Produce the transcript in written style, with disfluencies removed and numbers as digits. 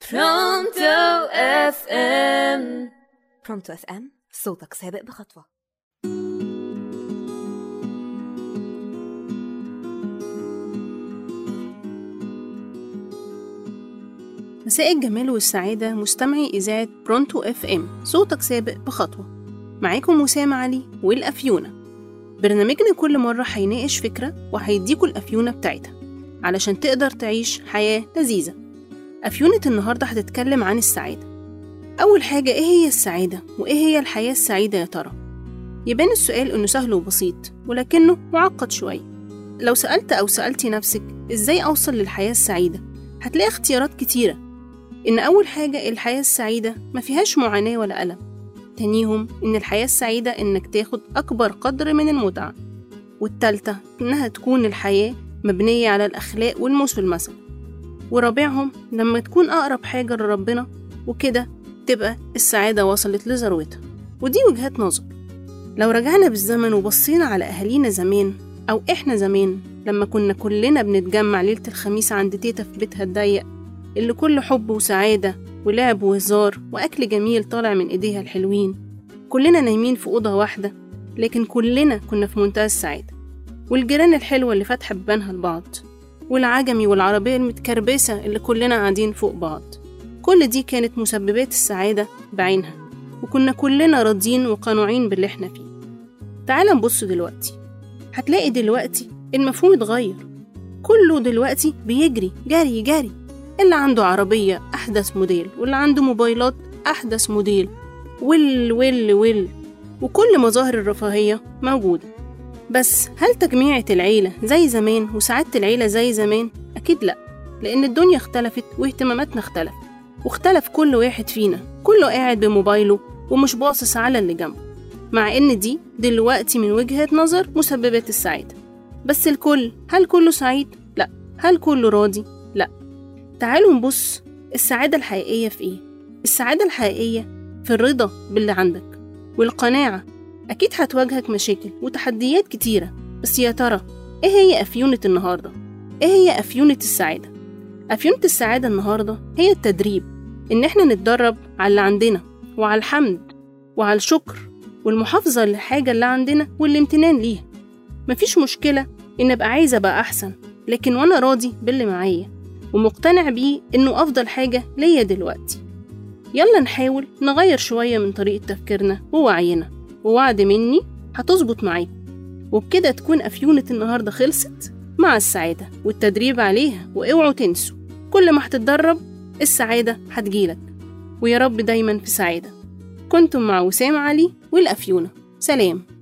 برونتو اف ام. برونتو اف ام، صوتك سابق بخطوة. مساء الجمال والسعادة مستمعي إذاعة برونتو اف ام، صوتك سابق بخطوة. معاكم وسام علي والأفيونة. برنامجنا كل مرة هيناقش فكرة وهيديكوا الأفيونة بتاعتها علشان تقدر تعيش حياة لذيذة. أفيونة النهاردة هتتكلم عن السعادة. أول حاجة، إيه هي السعادة؟ وإيه هي الحياة السعيدة يا ترى؟ يبان السؤال إنه سهل وبسيط، ولكنه معقد شوية. لو سألت أو سألتي نفسك إزاي أوصل للحياة السعيدة، هتلاقي اختيارات كتيرة. إن أول حاجة، الحياة السعيدة ما فيهاش معاناة ولا ألم. تانيهم، إن الحياة السعيدة إنك تاخد أكبر قدر من المتعة. والتالتة، إنها تكون الحياة مبنية على الأخلاق والموس والمثل. ورابعهم، لما تكون أقرب حاجة لربنا، وكده تبقى السعادة وصلت لذروتها. ودي وجهات نظر. لو رجعنا بالزمن وبصينا على أهالينا زمان، أو إحنا زمان لما كنا كلنا بنتجمع ليلة الخميس عند تيتا في بيتها الضيق، اللي كله حب وسعادة ولعب وهزار وأكل جميل طالع من إيديها الحلوين، كلنا نايمين في أوضة واحدة، لكن كلنا كنا في منتهى السعادة. والجيران الحلوة اللي فاتحة بيبانها لبعض، والعجمي والعربية المتكربسة اللي كلنا قاعدين فوق بعض، كل دي كانت مسببات السعادة بعينها، وكنا كلنا راضيين وقانعين باللي احنا فيه. تعال نبص دلوقتي، هتلاقي دلوقتي المفهوم اتغير. كله دلوقتي بيجري جري جري، اللي عنده عربية أحدث موديل، واللي عنده موبايلات أحدث موديل، وكل مظاهر الرفاهية موجودة. بس هل تجميعة العيلة زي زمان وسعادة العيلة زي زمان؟ أكيد لأ، لأن الدنيا اختلفت واهتماماتنا اختلفت، واختلف كل واحد فينا، كله قاعد بموبايله ومش باصص على اللي جنبه. مع إن دي دلوقتي من وجهة نظر مسببات السعادة. بس هل كله سعيد؟ لأ. هل كله راضي؟ لأ. تعالوا نبص، السعادة الحقيقية في إيه؟ السعادة الحقيقية في الرضا باللي عندك والقناعة. أكيد هتواجهك مشاكل وتحديات كتيرة، بس يا ترى إيه هي أفيونة النهاردة؟ إيه هي أفيونة السعادة؟ أفيونة السعادة النهاردة هي التدريب، إن إحنا نتدرب على اللي عندنا، وعلى الحمد وعلى الشكر والمحافظة للحاجة اللي عندنا والامتنان ليها. مفيش مشكلة إن أبقى عايزة أبقى أحسن، لكن وأنا راضي باللي معايا ومقتنع بيه إنه أفضل حاجة ليا دلوقتي. يلا نحاول نغير شوية من طريقة تفكيرنا ووعينا، ووعد مني هتظبط معاكم. وبكده تكون أفيونة النهاردة خلصت مع السعادة والتدريب عليها. واوعوا تنسوا، كل ما هتتدرب السعادة هتجيلك. ويا رب دايما في سعادة. كنتم مع وسام علي والأفيونة. سلام.